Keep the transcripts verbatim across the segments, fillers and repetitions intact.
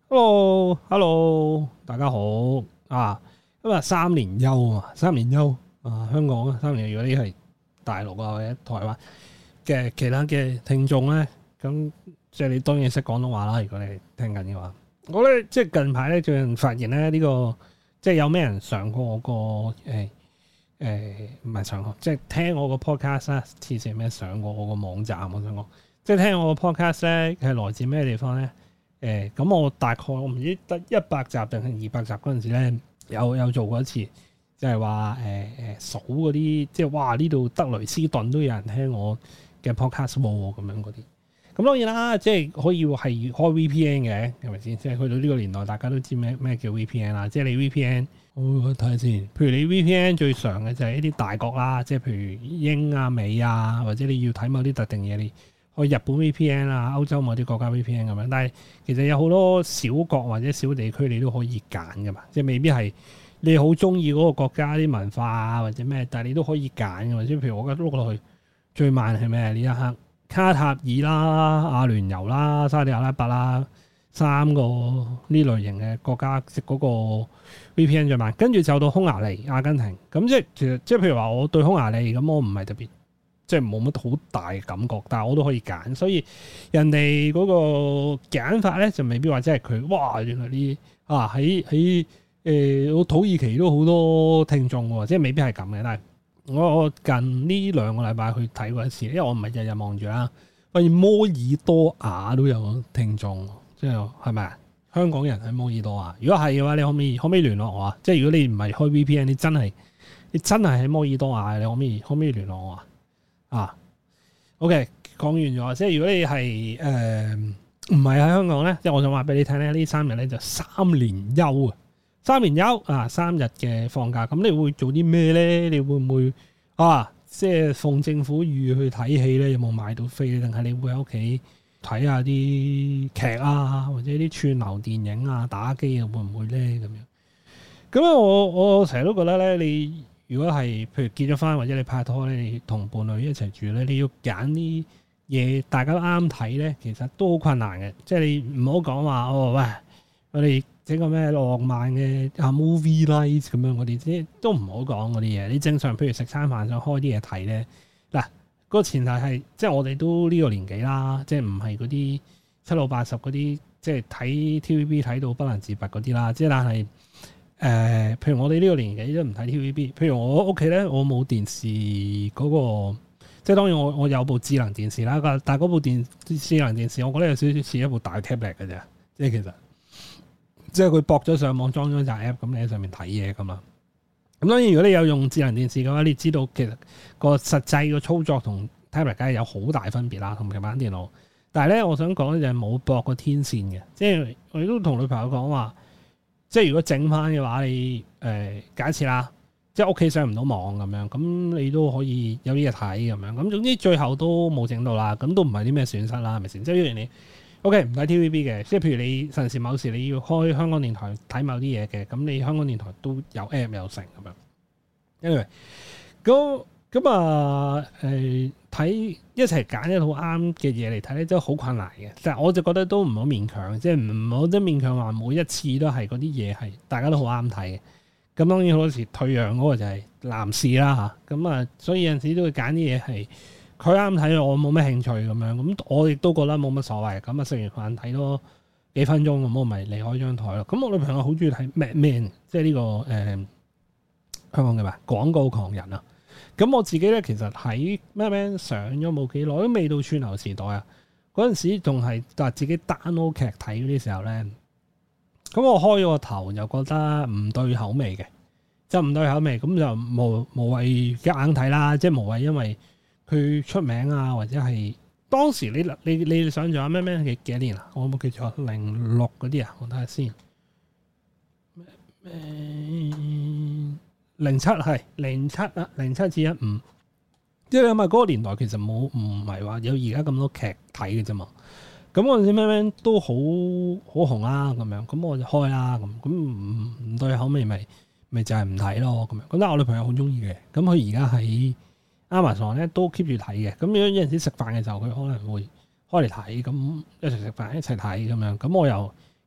Hello，Hello，大家好啊！今日三連休啊，三連休啊，香港啊，三連休。如果你係大陸啊或者台灣嘅其他嘅聽眾咧，咁即係你當然識廣東話啦。如果你聽緊嘅話，我咧即係近排咧最近發現咧呢、這個即係有咩人上過我個誒誒唔係上過，即係聽我個 podcast 啦。之前咩上過我個網站，我想講，即係聽我個 podcast 咧係來自咩地方咧？誒咁、欸、我大概我唔知得一百集定係二百集嗰陣時咧，有有做過一次，就係話誒誒數嗰啲，即係哇呢度德雷斯頓都有人聽我嘅 podcast 喎，咁樣嗰啲。咁當然啦，即係可以係開 V P N 嘅，係咪先？即係去到呢個年代，大家都知咩咩叫 V P N 啦。即係你 V P N，我睇下先。譬如你 V P N 最常嘅就係一啲大國啦，即係譬如英啊、美啊，或者你要睇某啲特定嘢你。去日本 V P N 啊，歐洲某啲國家 V P N 咁樣，但係其實有好多小國或者小地區你都可以揀噶嘛，即係未必係你好中意嗰個國家啲文化啊或者咩，但係你都可以揀噶嘛。即係譬如我而家碌落去最慢係咩？呢一刻卡塔爾啦、阿聯酋啦、沙地阿拉伯啦，三個呢類型嘅國家食嗰個 V P N 最慢，跟住就到匈牙利、阿根廷。咁即係其實即係譬如話我對匈牙利咁，我唔係特別。即係冇乜好大嘅感覺，但係我都可以揀，所以人哋嗰個揀法咧就未必話即係佢哇原來呢啊喺喺誒我土耳其都好多聽眾喎，即係未必係咁嘅。但係我我近呢兩個禮拜去睇過一次，因為我唔係日日望住啦，發現摩爾多瓦都有聽眾，即係係咪啊？香港人喺摩爾多瓦，如果係嘅話，你可唔可以可唔可以聯絡我啊？即係如果你唔係開 V P N，你真係你真係喺摩爾多瓦，你可唔可以可唔可以聯絡我啊？啊，OK，講完咗，即係如果你係誒唔係喺香港咧，即係我想話俾你聽咧，呢三日咧就三連休啊，三連休啊，三日嘅放假，咁你會做啲咩咧？你會唔會啊，即係奉政府預去睇戲咧？有冇買到飛？定係你會喺屋企睇下啲劇啊，或者啲串流電影啊、打機啊，會唔會咧？咁樣咁啊，我我成日都覺得咧，你。如果係譬如結咗婚或者你拍拖咧，你同伴侶一齊住咧，你要揀啲嘢大家都啱睇咧，其實都好困難嘅。即係你唔好講話哦，喂，我哋整個咩浪漫嘅啊 movie night 咁樣嗰啲，即都唔好講嗰啲嘢。你正常譬如食餐飯想開啲嘢睇咧，嗱、嗰個前提係即係我哋都呢個年紀啦，即係唔係嗰啲七老八十嗰啲，即係睇 T V B 睇到不能自拔嗰啲啦。即係但係。誒、呃，譬如我哋呢個年紀都唔睇 T V B， 譬如我屋企咧，我冇電視嗰、那個，即係當然我我有部智能電視啦，但係嗰部電智能電視，我覺得有少少似一部大 tablet 嘅啫，即係其實，即係佢駁咗上網裝咗隻 app，咁你喺上面睇嘢噶嘛。咁當然如果你有用智能電視嘅話，你知道其實個實際個操作同 tablet 梗係有好大分別啦，同平板電腦。但係咧，我想講就係冇駁個天線嘅，即係我亦都同女朋友講話。即係如果整翻嘅話，你誒、呃、假設啦，即係屋企上唔到網咁樣，咁你都可以有啲嘢睇咁樣。咁總之最後都冇整到啦，咁都唔係啲咩損失啦，係咪先？即係譬如你 OK 唔睇 T V B 嘅，即係譬如你陣時某時你要開香港電台睇某啲嘢嘅，咁你香港電台都有 app 有成咁樣。anyway，咁咁啊誒睇一齊揀一套啱嘅嘢嚟睇咧，真係好困難嘅。但係我就覺得都唔好勉強，即係唔好得勉強話每一次都係嗰啲嘢係大家都好啱睇嘅。咁當然好多時退讓嗰個就係男士啦嚇。咁啊，所以有陣時都會揀啲嘢係佢啱睇，我冇咩興趣咁樣。咁我亦都覺得冇乜所謂。咁啊，食完飯睇多幾分鐘咁，我咪離開張台咯。咁我女朋友好中意睇 Mad Men，即係呢個誒、呃、香港嘅咩廣告狂人啊。咁我自己咧，其實喺咩咩上咗冇幾耐，都未到串流時代啊！嗰陣時仲係話自己 download 劇睇嗰啲時候咧，咁我開咗個頭又覺得唔對口味嘅，就唔對口味，咁就無無謂夾硬睇啦，即係無謂因為佢出名啊，或者係當時你你你想象下咩咩幾幾多年啊？我冇記錯，零六嗰啲啊，我睇下先。咩咩？零七係零七啊，零七至一五，即係你諗下嗰個年代其實冇唔係話有而家咁多劇睇嘅啫嘛。咁嗰陣時咩咩都好好紅啦，咁樣咁我就開啦，咁咁唔唔對口味咪咪就係唔睇咯，咁樣。咁但係我女朋友好中意嘅，咁佢而家喺 Amazon 咧都 keep 住睇嘅。咁如果有陣時食飯嘅時候，佢可能會開嚟睇，咁一齊食飯一齊睇咁樣。咁我又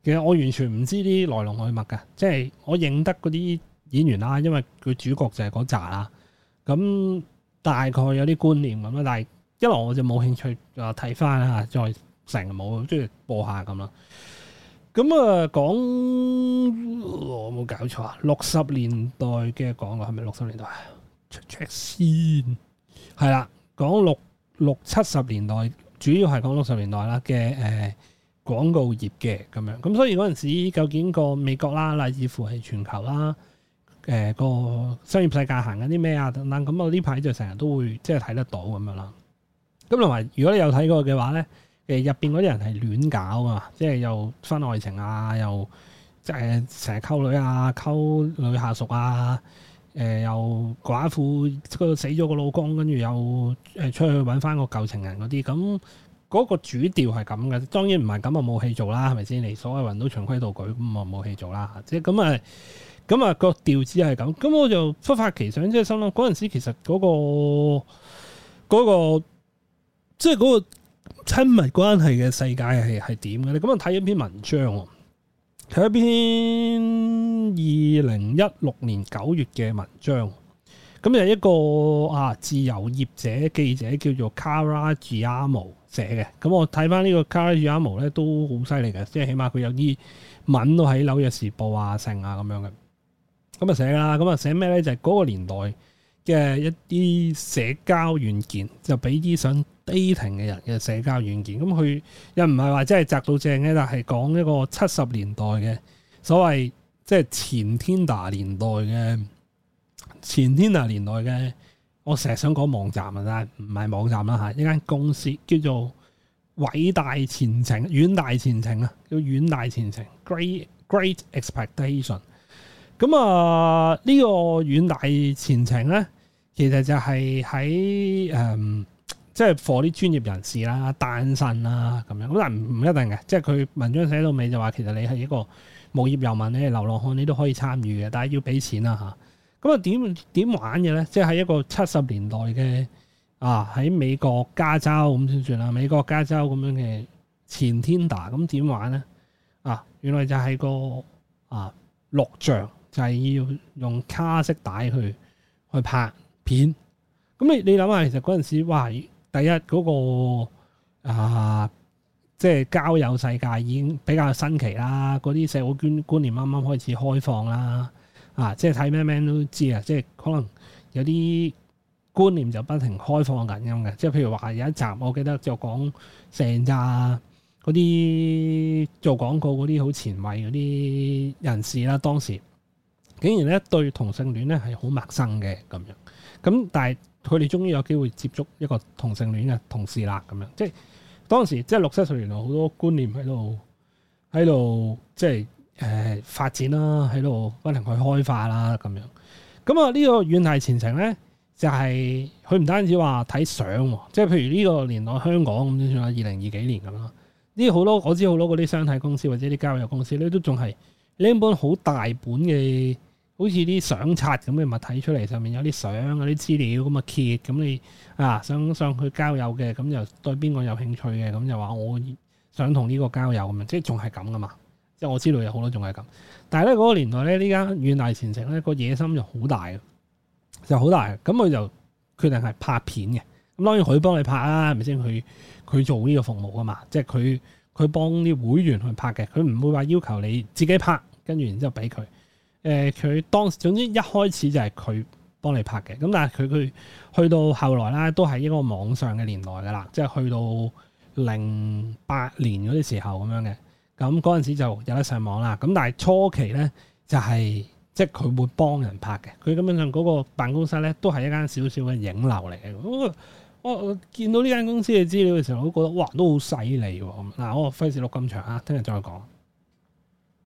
其實我完全唔知啲來龍去脈嘅，即係我認得嗰啲演員啦，因為佢主角就係嗰扎啦。咁大概有啲觀念咁啦，但係一來我就冇興趣啊睇翻啦，再成日冇中意播下咁啦。咁啊講我冇搞錯啊，六十年代嘅講過係咪六十年代？check check 先，係啦，講六六七十年代，主要係講六十年代啦嘅誒廣告業嘅咁樣。咁所以嗰陣時究竟個美國啦，乃至乎係全球啦，誒、呃、個商業世界行緊啲咩啊等等。咁我呢排就成日都會即係睇得到咁樣啦。咁同埋如果你有睇過嘅話咧，誒入邊嗰啲人係亂搞啊，即係又分愛情啊，又即係成日溝女啊，溝女下屬啊，誒、呃、又寡婦嗰度死咗個老公，跟住又誒出去揾翻個舊情人嗰啲，咁嗰個主調係咁嘅。當然唔係咁啊，冇戲做啦，係咪先？你所有人都循規蹈矩，咁啊冇戲做啦。即係咁啊，咁啊個調子係咁。咁我就忽發奇想，即係心諗嗰陣時其實嗰、嗰個嗰、嗰個即係嗰個親密關係嘅世界係係點嘅咧？咁啊睇一篇文章喎，睇一篇二零一六年九月嘅文章。咁就一個啊自由業者記者叫做 Kara Giamo 寫嘅。咁我睇翻呢個 Kara Giamo 咧都好犀利嘅，即係起碼佢有啲文都喺紐約時報啊、成啊咁樣嘅。咁啊寫啦，咁啊寫咩咧？就係、是、嗰個年代嘅一啲社交軟件，就俾啲想 dating 嘅人嘅社交軟件。咁佢又唔係話真係摘到正嘅，但係講一個七十年代嘅所謂即係前 Tinder 年代嘅前 Tinder 年代嘅，我成日想講網站啊，但係唔係網站啦嚇，一間公司叫做偉大前程、遠大前程啊，叫遠大前程 Great Great Expectation。咁啊，呢、這個遠大前程咧，其實就係喺誒，即係 for 啲專業人士啦、單身啦咁樣。咁但係唔唔一定嘅，即係佢文章寫到尾就話，其實你係一個無業遊民，你係流浪漢，你都可以參與嘅，但係要俾錢啦嚇。咁啊點點玩嘅咧？即係喺一個七十年代嘅啊，喺美國加州咁先算啦。美國加州咁樣嘅前 Tinder，咁點玩咧？啊，原來就係個啊錄像。就係要用卡式帶去去拍片，咁你你諗下，其實嗰陣時，哇！第一嗰、嗰個啊，即係交友世界已經比較新奇啦，嗰啲社會觀觀念啱啱開始開放啦，啊！即係睇咩咩都知啊，即係可能有啲觀念就不停開放緊咁嘅，即係譬如話有一集我記得就講成扎嗰啲做廣告嗰啲好前衛嗰啲人士啦，當時。竟然咧對同性戀咧係好陌生嘅咁樣，咁但係佢哋終於有機會接觸一個同性戀嘅同事啦咁樣，即係當時即係六七十年代好多觀念喺度喺度即係誒、呃、發展啦，喺度不停去開化啦咁樣。咁啊呢個遠大前程咧就係佢唔單止話睇相，即係譬如呢個年代香港咁先算啦，二零二幾年咁啦，呢好多我知好多嗰啲商體公司或者啲交友公司咧都仲係拎本好大本嘅。好似啲相冊咁嘅物體出嚟，上面有啲相、有啲資料咁啊揭，咁你啊想上去交友嘅，咁就對邊個有興趣嘅，咁就話我想同呢個交友咁樣，即係仲係咁噶嘛？即係我知道有好多仲係咁，但係咧嗰個年代咧，呢間遠大前程咧個野心就好大嘅，就好大嘅，咁佢就決定係拍片嘅。咁當然佢幫你拍啦，係咪先？佢佢做呢個服務噶嘛，即係佢佢幫啲會員去拍嘅，佢唔會話要求你自己拍，跟住然之後俾佢。誒佢當時總之一開始就係佢幫你拍嘅，咁但係佢佢去到後來啦，都係一個網上嘅年代噶啦，即係去到零八年嗰啲時候咁樣嘅，咁嗰陣時就有得上網啦。咁但係初期咧就係即係佢會幫人拍嘅，佢根本上嗰個辦公室咧都係一間少少嘅影樓嚟嘅。我我我見到呢間公司嘅資料嘅時候，我都覺得哇都好犀利喎。嗱，我費事錄咁長啊，聽日再講。